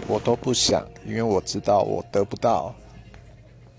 我都不想，因为我知道我得不到。